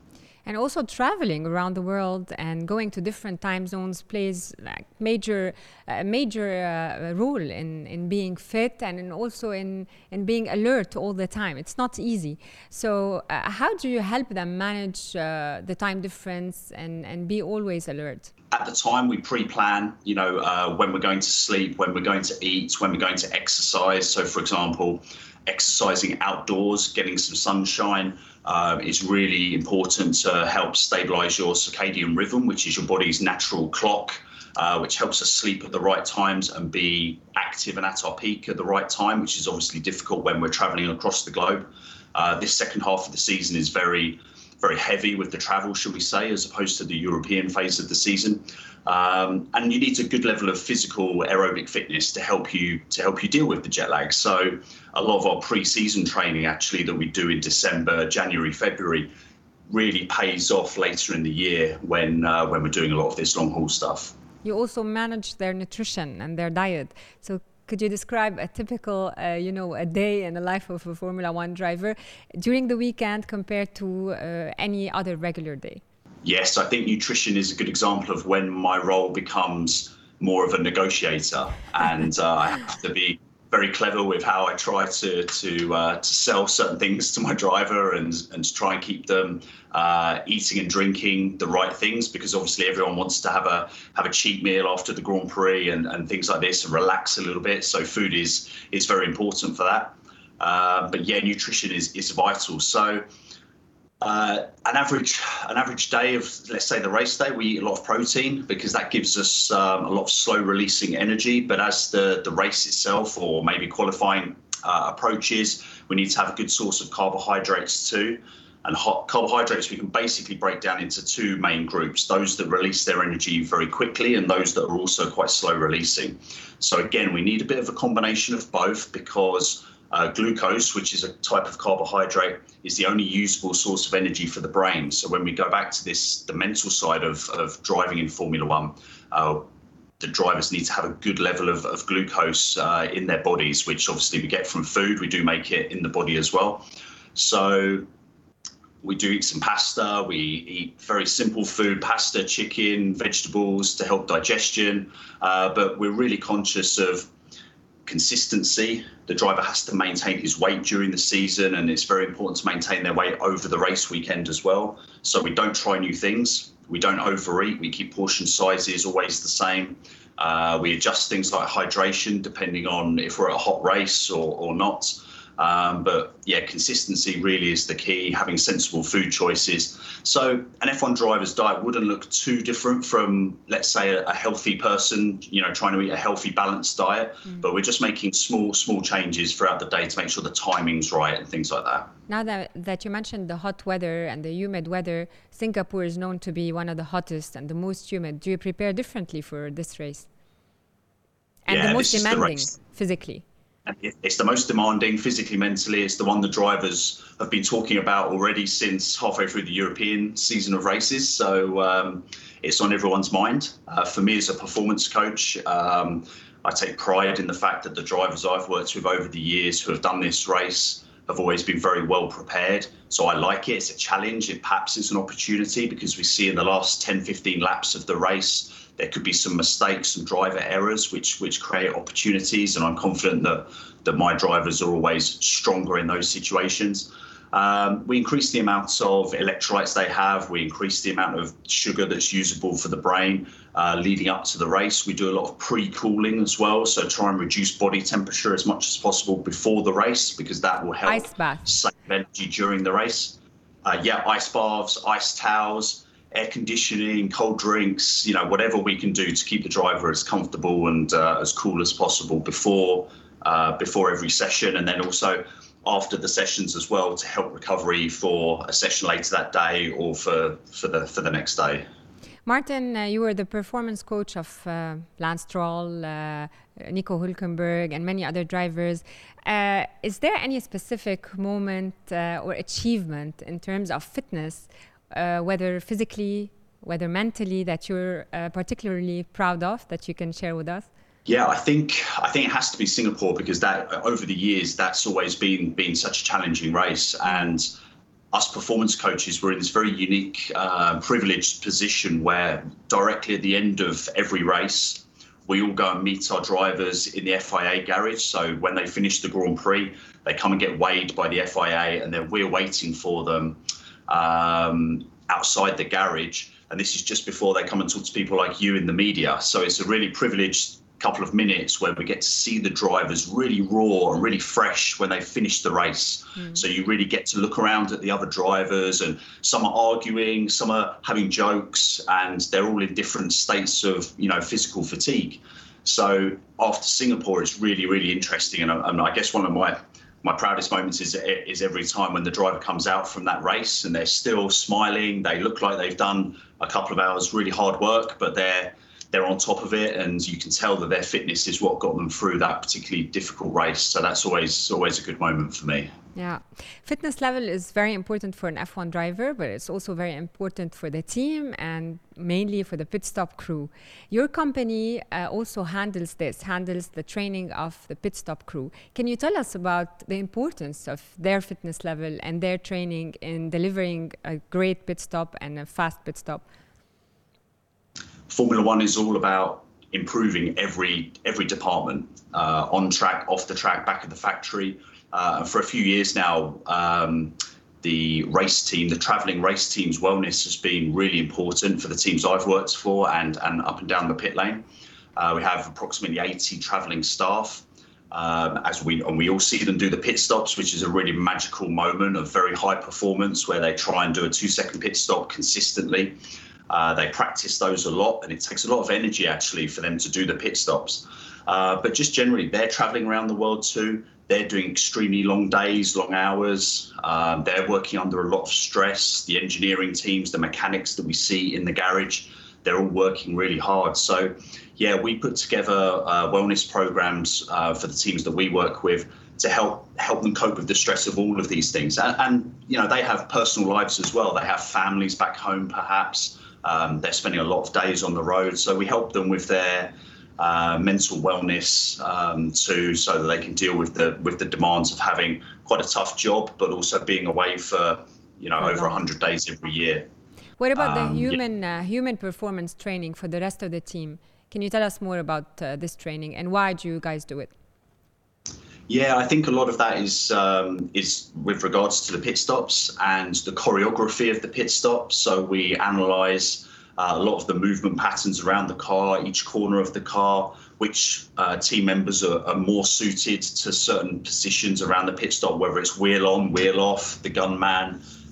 And also traveling around the world and going to different time zones plays like major, uh, major uh, role in, in being fit and in also in, in being alert all the time. It's not easy. So uh, how do you help them manage uh, the time difference and, and be always alert? At the time, we pre-plan, you know, uh, when we're going to sleep, when we're going to eat, when we're going to exercise. So, for example, exercising outdoors, getting some sunshine uh, is really important to help stabilize your circadian rhythm, which is your body's natural clock, uh, which helps us sleep at the right times and be active and at our peak at the right time, which is obviously difficult when we're traveling across the globe. Uh, this second half of the season is very very heavy with the travel, should we say, as opposed to the European phase of the season. Um, and you need a good level of physical aerobic fitness to help you to help you deal with the jet lag. So a lot of our pre-season training actually that we do in December, January, February really pays off later in the year when uh, when we're doing a lot of this long haul stuff. You also manage their nutrition and their diet. So could you describe a typical, uh, you know, a day in the life of a Formula One driver during the weekend compared to uh, any other regular day? Yes, I think nutrition is a good example of when my role becomes more of a negotiator, and uh, I have to be very clever with how I try to to uh, to sell certain things to my driver and and to try and keep them uh, eating and drinking the right things, because obviously everyone wants to have a have a cheat meal after the Grand Prix and, and things like this and relax a little bit. So food is is very important for that. Uh, but yeah, nutrition is is vital. So. Uh, an average an average day of, let's say, the race day, we eat a lot of protein because that gives us um, a lot of slow releasing energy. But as the, the race itself or maybe qualifying uh, approaches, we need to have a good source of carbohydrates too. And hot carbohydrates we can basically break down into two main groups, those that release their energy very quickly and those that are also quite slow releasing. So again, we need a bit of a combination of both, because Uh, glucose, which is a type of carbohydrate, is the only usable source of energy for the brain. So when we go back to this, the mental side of, of driving in Formula One, uh, the drivers need to have a good level of, of glucose uh, in their bodies, which obviously we get from food. We do make it in the body as well. So we do eat some pasta. We eat very simple food, pasta, chicken, vegetables to help digestion. Uh, but we're really conscious of consistency. The driver has to maintain his weight during the season, and it's very important to maintain their weight over the race weekend as well. So we don't try new things. We don't overeat. We keep portion sizes always the same. Uh, we adjust things like hydration depending on if we're at a hot race or, or not. Um, but yeah, consistency really is the key, having sensible food choices. So an F one driver's diet wouldn't look too different from, let's say, a, a healthy person, you know, trying to eat a healthy, balanced diet. Mm. But we're just making small, small changes throughout the day to make sure the timing's right and things like that. Now that, that you mentioned the hot weather and the humid weather, Singapore is known to be one of the hottest and the most humid. Do you prepare differently for this race? And yeah, the most demanding the physically? It's the most demanding physically, mentally. It's the one the drivers have been talking about already since halfway through the European season of races. So um, it's on everyone's mind. Uh, for me as a performance coach, um, I take pride in the fact that the drivers I've worked with over the years who have done this race have always been very well prepared. So I like it. It's a challenge. It perhaps is an opportunity, because we see in the last ten, fifteen laps of the race, there could be some mistakes, some driver errors, which which create opportunities. And I'm confident that that my drivers are always stronger in those situations. Um, we increase the amounts of electrolytes they have. We increase the amount of sugar that's usable for the brain uh, leading up to the race. We do a lot of pre-cooling as well. So try and reduce body temperature as much as possible before the race, because that will help ice bath. save energy during the race. Uh, yeah, ice baths, ice towels, air conditioning, cold drinks, you know, whatever we can do to keep the driver as comfortable and uh, as cool as possible before uh, before every session, and then also after the sessions as well, to help recovery for a session later that day or for for the for the next day. Martin, uh, you were the performance coach of uh, Lance Stroll, uh, Nico Hülkenberg, and many other drivers. Uh, is there any specific moment uh, or achievement in terms of fitness, uh, whether physically, whether mentally, that you're uh, particularly proud of, that you can share with us? Yeah, I think I think it has to be Singapore, because that over the years that's always been been such a challenging race, and us performance coaches, we're in this very unique, uh, privileged position where directly at the end of every race, we all go and meet our drivers in the F I A garage. So when they finish the Grand Prix, they come and get weighed by the F I A, and then we're waiting for them um, outside the garage. And this is just before they come and talk to people like you in the media. So it's a really privileged couple of minutes where we get to see the drivers really raw and really fresh when they finish the race. Mm. So you really get to look around at the other drivers, and some are arguing, some are having jokes, and they're all in different states of, you know, physical fatigue. So after Singapore, it's really, really interesting. And I, and I guess one of my my proudest moments is is every time when the driver comes out from that race and they're still smiling. They look like they've done a couple of hours really hard work, but they're they're on top of it, and you can tell that their fitness is what got them through that particularly difficult race. So that's always always a good moment for me. Yeah, fitness level is very important for an F one driver, but it's also very important for the team and mainly for the pit stop crew. Your company uh, also handles this, handles the training of the pit stop crew. Can you tell us about the importance of their fitness level and their training in delivering a great pit stop and a fast pit stop? Formula One is all about improving every every department, uh, on track, off the track, back at the factory. Uh, and for a few years now, um, the race team, the travelling race team's wellness has been really important for the teams I've worked for and, and up and down the pit lane. Uh, we have approximately eighty travelling staff. Um, as we and we all see them do the pit stops, which is a really magical moment of very high performance where they try and do a two-second pit stop consistently. Uh, they practice those a lot, and it takes a lot of energy actually for them to do the pit stops. Uh, but just generally, they're traveling around the world too. They're doing extremely long days, long hours. Um, they're working under a lot of stress. The engineering teams, the mechanics that we see in the garage, they're all working really hard. So, yeah, we put together uh, wellness programs uh, for the teams that we work with to help help them cope with the stress of all of these things. And, and you know, they have personal lives as well. They have families back home, perhaps. Um, they're spending a lot of days on the road, so we help them with their uh, mental wellness um, too, so that they can deal with the with the demands of having quite a tough job, but also being away for, you know, over one hundred days every year. What about um, the human yeah. uh, human performance training for the rest of the team? Can you tell us more about uh, this training and why do you guys do it? Yeah, I think a lot of that is um, is with regards to the pit stops and the choreography of the pit stop. So we analyse uh, a lot of the movement patterns around the car, each corner of the car, which uh, team members are, are more suited to certain positions around the pit stop, whether it's wheel on, wheel off, the gunman,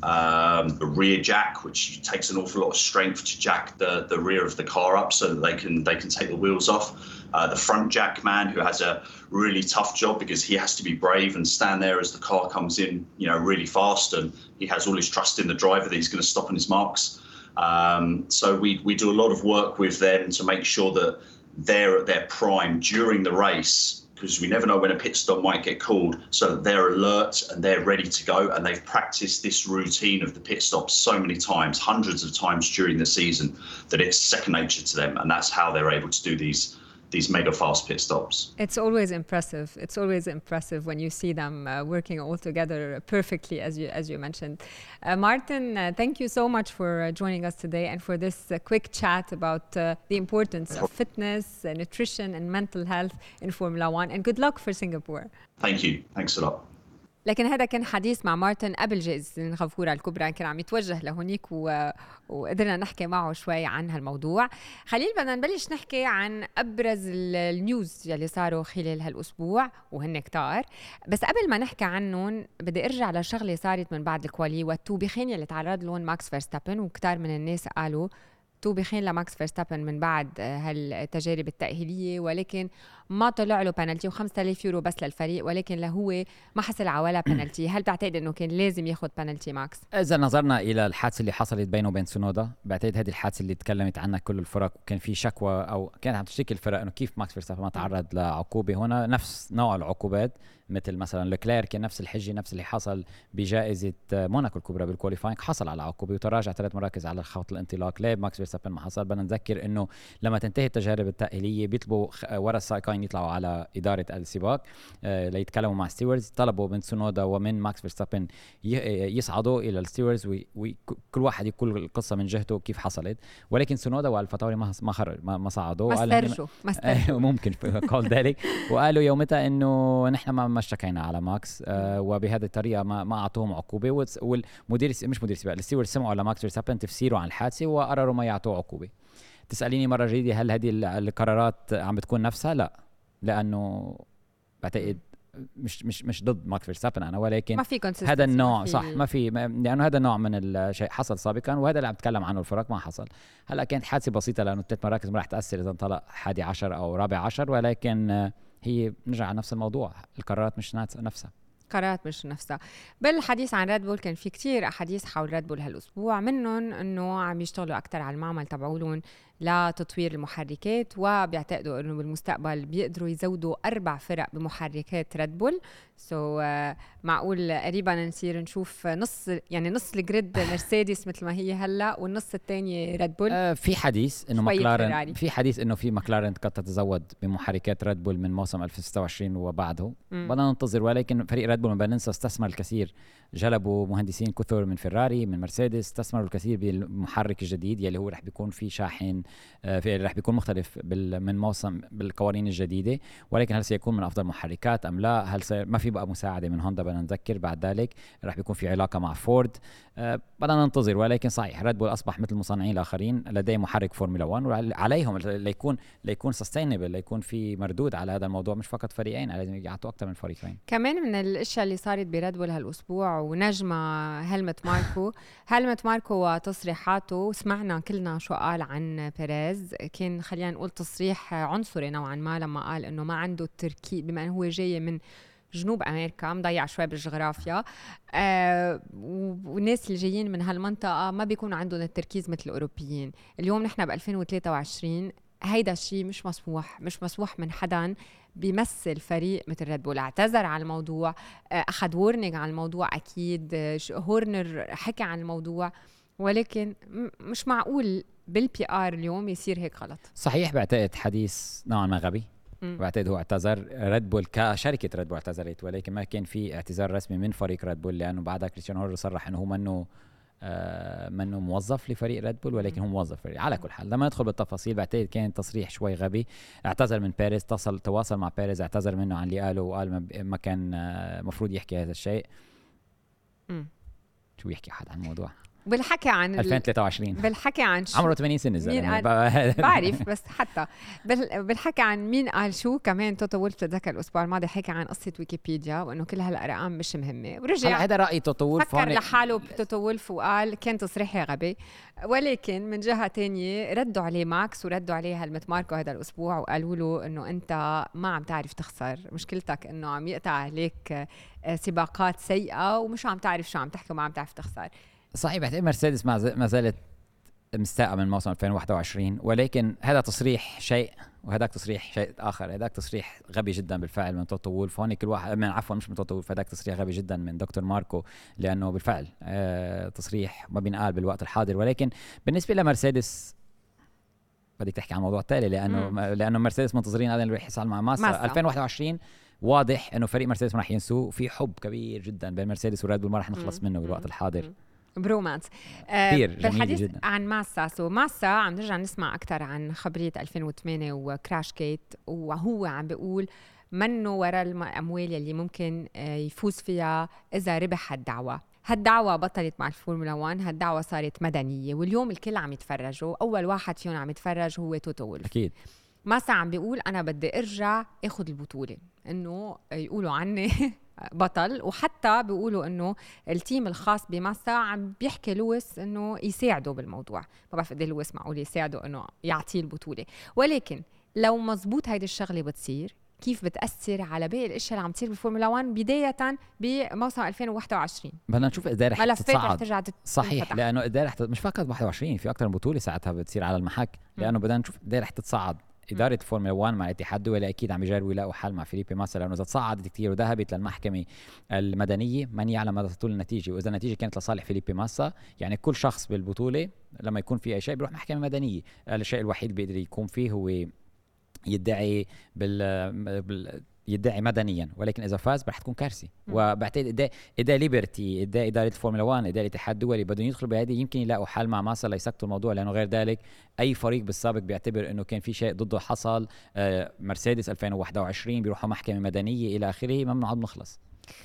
um, the rear jack, which takes an awful lot of strength to jack the, the rear of the car up so that they can they can take the wheels off. Uh, the front jack man, who has a really tough job because he has to be brave and stand there as the car comes in, you know, really fast, and he has all his trust in the driver that he's going to stop on his marks. Um, so we we do a lot of work with them to make sure that they're at their prime during the race, because we never know when a pit stop might get called, so that they're alert and they're ready to go, and they've practiced this routine of the pit stop so many times, hundreds of times during the season, that it's second nature to them, and that's how they're able to do these these mega fast pit stops. It's always impressive. It's always impressive when you see them uh, working all together perfectly, as you as you mentioned. Uh, Martin, uh, thank you so much for uh, joining us today and for this uh, quick chat about uh, the importance of fitness, uh, nutrition, and mental health in Formula One. And good luck for Singapore. Thank you. Thanks a lot. لكن هذا كان حديث مع مارتن قبل جائزة سنغافورة الكبرى، كان عم يتوجه لهونيك و... وقدرنا نحكي معه شوي عن هالموضوع. خليل، بدنا نبلش نحكي عن أبرز النيوز يلي صاروا خلال هالأسبوع وهن كتار. بس قبل ما نحكي عنهم بدي أرجع لشغلة صارت من بعد الكوالي والتوبيخين يلي تعرض لهم ماكس فيرستابن، وكتار من الناس قالوا توبيخين لماكس فيرستابن من بعد هالتجارب التأهيلية، ولكن ما طلع له بنالتي وخمسة آلاف يورو بس للفريق، ولكن لهو ما حصل على ولا بنالتي. هل بتعتقد انه كان لازم ياخذ بنالتي ماكس؟ اذا نظرنا الى الحادثه اللي حصلت بينه وبين سونودا، بعتقد هذه الحادثه اللي تكلمت عنها كل الفرق، وكان في شكوى او كانت عم تشتكي الفرق انه كيف ماكس فيرستابن ما تعرض لعقوبه. هنا نفس نوع العقوبات مثل مثلا لوكلير كان نفس الحجه نفس اللي حصل بجائزه موناكو الكبرى بالكواليفاينج، حصل على عقوبه وتراجع ثلاث مراكز على خط الانطلاق. ليه ماكس فيرستابن ما حصل؟ بدنا نذكر انه لما تنتهي التجارب التاهيليه بيطلبوا ورا السائقين يطلعوا على اداره السباق آه ليتكلموا مع ستيوردز. طلبوا من سونودا ومن ماكس فيرستابن يصعدوا الى الستيوردز وكل واحد يقول القصه من جهته كيف حصلت، ولكن سونودا والفتاوري ما ما خرج ما, ما صعدوا، ما استرجوا ما استرجوا ممكن قال ذلك، وقالوا يومتها انه نحن ما ما اشتكينا على ماكس آه وبهذه الطريقه ما ما اعطوهم عقوبه، والمدير مش مدير السباق الستيوردز سمعوا على ماكس فيرستابن تفسيره عن الحادثه وقرروا ما يعطوه عقوبه. تساليني مره جديده هل هذه القرارات عم بتكون نفسها؟ لا، لانه بعتقد مش مش مش ضد ماكس فيرستابن انا، ولكن ما في هذا النوع صح ما في، لانه هذا النوع من الشيء حصل سابقا وهذا اللي عم بتكلم عنه الفرق ما حصل. هلا كانت حادثه بسيطه لانه ثلاث مراكز ما راح تاثر اذا انطلق حادي عشر او رابع عشر، ولكن هي نرجع على نفس الموضوع، القرارات مش نفسها قرارات مش نفسها. بالحديث عن ريد بول كان في كتير أحاديث حول ريد بول هالأسبوع، منهم أنه عم يشتغلوا أكتر على المعمل تبعولهم لتطوير المحركات، وبيعتقدوا أنه بالمستقبل بيقدروا يزودوا أربع فرق بمحركات ريد بول. سو so, uh, معقول قريبا نصير نشوف نص يعني نص الجريد مرسيدس مثل ما هي هلا والنص الثاني ريد بول. آه في حديث انه ماكلارن في حديث انه في ماكلارن قد تتزود بمحركات ريد بول من موسم ألفين وستة وعشرين وبعده، بدنا ننتظر. ولكن فريق ريد بول ما بننسى استثمر الكثير، جلبوا مهندسين كثر من فيراري من مرسيدس، استثمروا الكثير بالمحرك الجديد يلي هو رح بيكون في شاحن آه في رح بيكون مختلف من موسم بالقوانين الجديده، ولكن هل سيكون من افضل محركات ام لا؟ هل سي... ما في بقى مساعده من هوندا بدنا نذكر، بعد ذلك رح بيكون في علاقه مع فورد أه بدنا ننتظر. ولكن صحيح ريد بول اصبح مثل المصنعين الاخرين لديه محرك فورمولا واحد وعليهم ليكون ليكون سستينبل، ليكون في مردود على هذا الموضوع، مش فقط فريقين، لازم يعطوا اكثر من فريقين. كمان من الاشياء اللي صارت بريد بول هالاسبوع ونجمه هلمت ماركو هلمت ماركو وتصريحاته، سمعنا كلنا شو قال عن بيريز، كان خلينا نقول تصريح عنصري نوعا ما لما قال انه ما عنده التركيز بما انه هو جاي من جنوب أمريكا مضيع شوي بالجغرافيا، آه والناس اللي جايين من هالمنطقة ما بيكونوا عندهم التركيز مثل الأوروبيين. اليوم نحن ب ألفين وثلاثة وعشرين، هيدا الشيء مش مسموح مش مسموح من حدا بيمثل فريق مثل ريد بول. اعتذر عن الموضوع، آه أخذ وورنينج عن الموضوع أكيد، آه هورنر حكى عن الموضوع، ولكن مش معقول بالبي آر اليوم يصير هيك غلط. صحيح، بعتقد حديث نوعا ما غبي، بعتقد هو اعتذر، ريد بول كشركه ريد بول اعتذرت، ولكن ما كان في اعتذار رسمي من فريق ريد بول، لانه بعدها كريستيان هورنر صرح انه هو منه آه منه موظف لفريق ريد بول، ولكن هو موظف فريق. على كل حال لما ندخل بالتفاصيل بعتقد كان تصريح شوي غبي. اعتذر من بيريز، اتصل تواصل مع بيريز، اعتذر منه عن اللي قاله وقال ما كان مفروض آه يحكي هذا الشيء. م. شو يحكي حد عن الموضوع بالحكي عن ألفين وثلاثة وعشرين بالحكي عن عمره ثمانين سنة الزلمة بعرف، بس حتى بالحكي عن مين قال شو. كمان توتو وولف تذكر الأسبوع الماضي حكى عن قصة ويكيبيديا وإنه كل هالأرقام مش مهمة، ورجع هذا رأي توتو وولف، فكر لحاله بتوتو وولف وقال كان تصريحي غبي. ولكن من جهة تانية ردوا عليه ماكس وردوا عليه هلمت ماركو هذا الأسبوع وقالوا له إنه أنت ما عم تعرف تخسر، مشكلتك إنه عم يقطع عليك سباقات سيئة ومش عم تعرف شو عم تحكي وما عم تعرف تخسر. صحيح، بعتقد مرسيدس ما زالت مستاءة من موسم ألفين وواحد وعشرين، ولكن هذا تصريح شيء وهذاك تصريح شيء آخر. هذاك تصريح غبي جدا بالفعل من توتو وولف، هون كل واحد من عفوا مش من توتو وولف، هذاك تصريح غبي جدا من دكتور ماركو، لأنه بالفعل آه تصريح ما بينقال بالوقت الحاضر. ولكن بالنسبة لمرسيدس بدك تحكي عن موضوع تالي، لأنه م. لأنه مرسيدس منتظرين هذا اللي يحصل مع ماسا, ماسا. ألفين وواحد وعشرين واضح إنه فريق مرسيدس ما راح ينسوه، في حب كبير جدا بين مرسيدس وريد بول ما راح نخلص منه بالوقت الحاضر. م. برومانس كثير آه بالحديث جدا عن ماسا. سو ماسا عم نرجع نسمع أكتر عن خبرية ألفين وثمانية وكراش كيت، وهو عم بيقول منه وراء الأموال اللي ممكن يفوز فيها إذا ربح هالدعوة. هالدعوة بطلت مع الفورمولا واحد، هالدعوة صارت مدنية، واليوم الكل عم يتفرجوا. أول واحد فيهم عم يتفرج هو توتو وولف. أكيد ماسا عم بيقول أنا بدي أرجع أخذ البطولة، إنه يقولوا عني بطل. وحتى بيقولوا إنه التيم الخاص بماسا عم بيحكي لويس إنه يساعده بالموضوع. ما بعرف قد ايه لويس معقول يساعده إنه يعطيه البطولة، ولكن لو مزبوط هيدي الشغلة بتصير كيف بتأثر على باقي الاشياء اللي عم تصير بالفورمولا واحد بداية بموسم ألفين وواحد وعشرين. بدنا نشوف قد ايه رح تتصاعد. صحيح، لانه قد ايه رح مش فقط واحد وعشرين، في اكثر من بطولة ساعتها بتصير على المحك، لانه بدنا نشوف قد ايه رح تتصاعد إدارة فورمولا واحد مع الاتحاد الدولي أكيد عم يجربوا يلاقوا حل مع فيليبي ماسا، لأنه إذا تصاعدت كتير وذهبت للمحكمة المدنية من يعلم ماذا تطول النتيجة، وإذا النتيجة كانت لصالح فيليبي ماسا يعني كل شخص بالبطولة لما يكون في أي شيء بيروح محكمة مدنية. الشيء الوحيد اللي بيقدر يكون فيه هو يدعي بال, بال... يدعي مدنيا، ولكن اذا فاز رح تكون كارثه. وبعتقد اداء اداء ليبرتي، اداء اداره الفورمولا واحد، اداء الاتحاد الدولي بدهم يدخلوا بهذه، يمكن يلاقوا حل مع ماسا ليسكتوا الموضوع، لانه غير ذلك اي فريق بالسابق بيعتبر انه كان في شيء ضده حصل، آه مرسيدس ألفين وواحد وعشرين بيروحوا محكمه مدنيه الى اخره، ما بنقعد نخلص.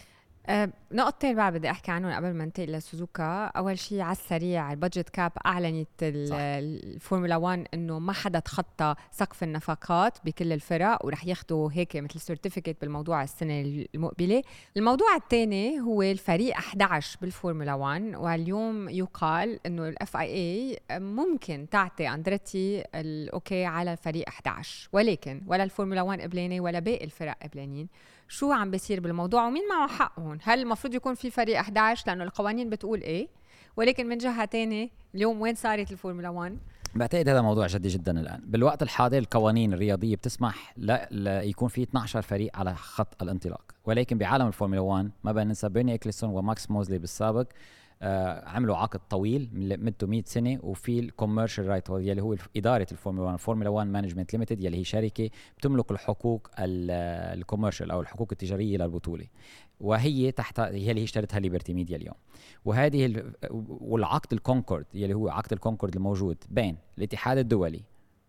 أه نقطتين بعد بدي احكي عنهم قبل ما ننتقل لسوزوكا. اول شيء على السريع، البادجت كاب اعلنت الفورمولا واحد انه ما حدا تخطى سقف النفقات بكل الفرق، ورح ياخذوا هيك مثل سيرتيفيكت بالموضوع السنه المقبله. الموضوع الثاني هو الفريق أحد عشر بالفورمولا واحد، واليوم يقال انه الاف اي اي ممكن تعطي اندريتي الاوكي على الفريق أحد عشر، ولكن ولا الفورمولا واحد قبلانه ولا باقي الفرق قبلانين. شو عم بيصير بالموضوع ومين معه حق هون؟ هل المفروض يكون في فريق أحد عشر لأنه القوانين بتقول إيه؟ ولكن من جهة تانية اليوم وين صارت الفورمولا واحد؟ بعتقد هذا موضوع جدي جدا الآن. بالوقت الحاضر القوانين الرياضية بتسمح لا, لا يكون في اثني عشر فريق على خط الانطلاق، ولكن بعالم الفورمولا واحد ما بين ننسى بيرني إكليسون وماكس موزلي بالسابق آه عملوا عقد طويل مدته مئة سنة، وفي الكوميرشال رايت يلي هو إدارة الفورمولا واحد، فورمولا واحد مانجمنت ليميتد، يلي هي شركة بتملك الحقوق الكوميرشال أو الحقوق التجارية للبطولة، وهي تحت هي اللي اشترتها ليبرتي ميديا اليوم. وهذه ال... والعقد الكونكورد يلي هو عقد الكونكورد الموجود بين الاتحاد الدولي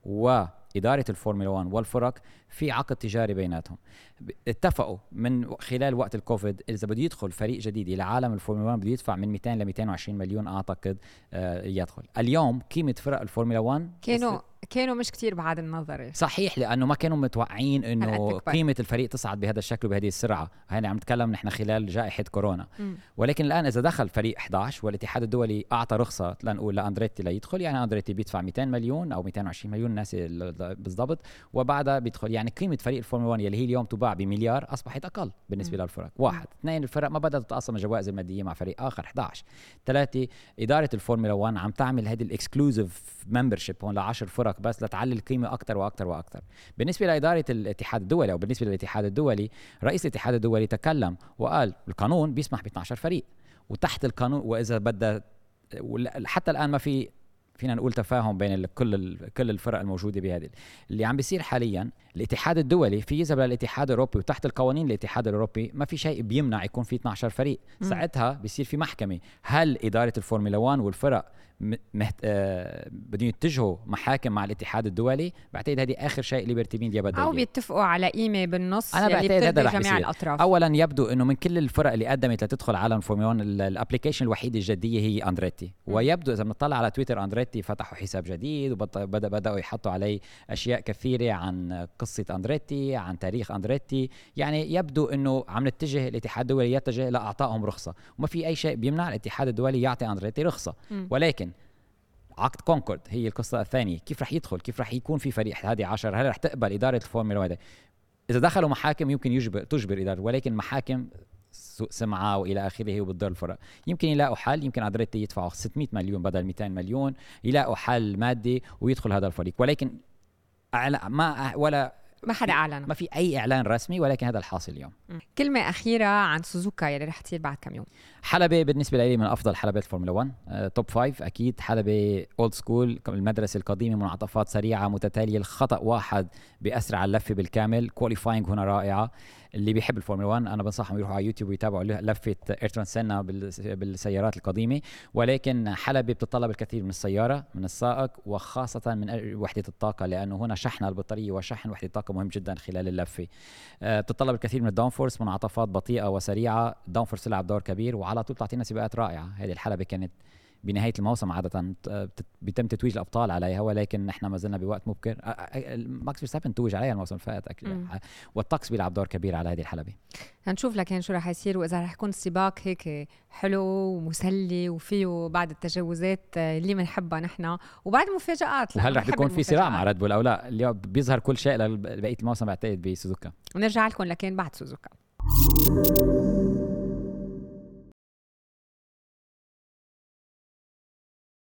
وإدارة الفورمولا واحد والفرق، في عقد تجاري بيناتهم. اتفقوا من خلال وقت الكوفيد إذا بده يدخل فريق جديد إلى عالم الفورمولا واحد بده يدفع من مئتين ل مئتين وعشرين مليون أعتقد آه يدخل. اليوم قيمة فرق الفورمولا واحد كانوا كانوا مش كتير بعد النظر، صحيح، لأنه ما كانوا متوقعين إنه قيمة الفريق تصعد بهذا الشكل وبهذه السرعة. هنا عم نتكلم نحن خلال جائحة كورونا. م. ولكن الآن إذا دخل فريق أحد عشر والاتحاد الدولي أعطى رخصة لنقول لأندريتي ليدخل، يعني أندريتي بيدفع مئتين مليون أو مئتين وعشرين مليون ناس بالضبط، وبعدها بيدخل. يعني قيمة فريق الفورمولا واحد يلي هي اليوم تباع بمليار أصبحت أقل بالنسبة م. للفرق. واحد. م. اثنين، الفرق ما بدأت تتقاسم الجوائز المادية مع فريق آخر. أحد عشر. ثلاثة، إدارة الفورمولا واحد عم تعمل هذه الإكسكلوزيف ممبرشيب هون لعشر فرق بس لتعلي القيمة أكتر وأكتر وأكتر. بالنسبة لإدارة الاتحاد الدولي أو بالنسبة للاتحاد الدولي، رئيس الاتحاد الدولي تكلم وقال القانون بيسمح ب اثني عشر فريق، وتحت القانون وإذا بدأ حتى الآن ما في فينا نقول تفاهم بين كل كل الفرق الموجوده بهذه. اللي عم بيصير حاليا الاتحاد الدولي في يذهب للاتحاد الاوروبي، وتحت القوانين الاتحاد الاوروبي ما في شيء بيمنع يكون في اثني عشر فريق. م. ساعتها بيصير في محكمه. هل اداره الفورمولا واحد والفرق مهت... آه... بدهم يتجهوا محاكم مع الاتحاد الدولي؟ بعتقد هذه اخر شيء ليبرتي ميديا بدها او بيتفقوا على قيمه بالنص اللي بترضي جميع الاطراف. اولا يبدو انه من كل الفرق اللي قدمت لتدخل عالم الفورمولا واحد الابلكيشن الوحيده الجديه هي اندريتي. م. ويبدو اذا بنطلع على تويتر اندريتي فتحوا حساب جديد وبدأ بدأوا يحطوا عليه أشياء كثيرة عن قصة أندريتي، عن تاريخ أندريتي. يعني يبدو أنه عم نتجه الاتحاد الدولي يتجه لأعطائهم رخصة، وما في أي شيء بيمنع الاتحاد الدولي يعطي أندريتي رخصة. م. ولكن عقد كونكورد هي القصة الثانية، كيف رح يدخل، كيف رح يكون في فريق هذه عشر، هل رح تقبل إدارة الفورمولا واحد؟ إذا دخلوا محاكم يمكن يجبر تجبر إدارة، ولكن محاكم سوء سمعة وإلى آخره وبتضر الفرق. يمكن يلاقوا حل، يمكن أندريتي يدفعوا ستمئة مليون بدل مئتين مليون، يلاقوا حل مادي ويدخل هذا الفريق. ولكن ما ولا ما حدا أعلن، ما في أي إعلان رسمي، ولكن هذا الحاصل اليوم. كلمة أخيرة عن سوزوكا يلي رح تصير بعد كم يوم. حلبة بالنسبة لي من أفضل حلبات الفورمولا واحد، أه توب فايف أكيد. حلبة أولد سكول، المدرسة القديمة، منعطفات سريعة متتالية، الخطأ واحد بأسرع اللفة بالكامل، كواليفاينج هنا رائعة. اللي بيحب الفورمولا واحد أنا بنصحهم يروحوا على يوتيوب ويتابعوا لفة إيرتون سينا بالسيارات القديمة. ولكن حلبة بتطلب الكثير من السيارة، من السائق، وخاصة من وحدة الطاقة، لأنه هنا شحن البطارية وشحن وحدة الطاقة مهم جدا خلال اللفة. أه بتطلب الكثير من الداونفورس، منعطفات بطيئة وسريعة. الداونفورس يلعب دور كبير، وعلى طول تعطينا سباقات رائعة. هذه الحلبة كانت بنهاية الموسم عادة بيتم تتويج الأبطال عليها، ولكن نحن ما زلنا بوقت مبكر. ماكس فيرستابن توج عليها الموسم الفائت، والطقس بيلعب دور كبير على هذه الحلبة. هنشوف لكن شو رح يصير، وإذا رح يكون السباق هيك حلو ومسلي وفيه بعد التجاوزات اللي بنحبها نحن، وبعد مفاجآت. وهل رح يكون في صراع مع ريد بول أو لا؟ اليوم بيظهر كل شيء لبقية الموسم بعتقد بسوزوكا. ونرجع لكم لكن بعد سوزوكا.